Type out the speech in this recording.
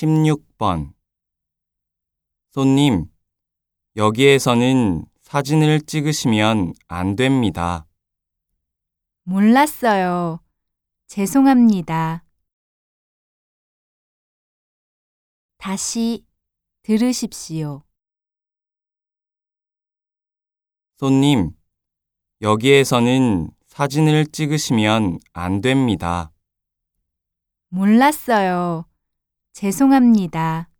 16번. 손님, 여기에서는 사진을 찍으시면 안 됩니다. 몰랐어요. 죄송합니다. 다시 들으십시오. 손님, 여기에서는 사진을 찍으시면 안 됩니다. 몰랐어요. 죄송합니다.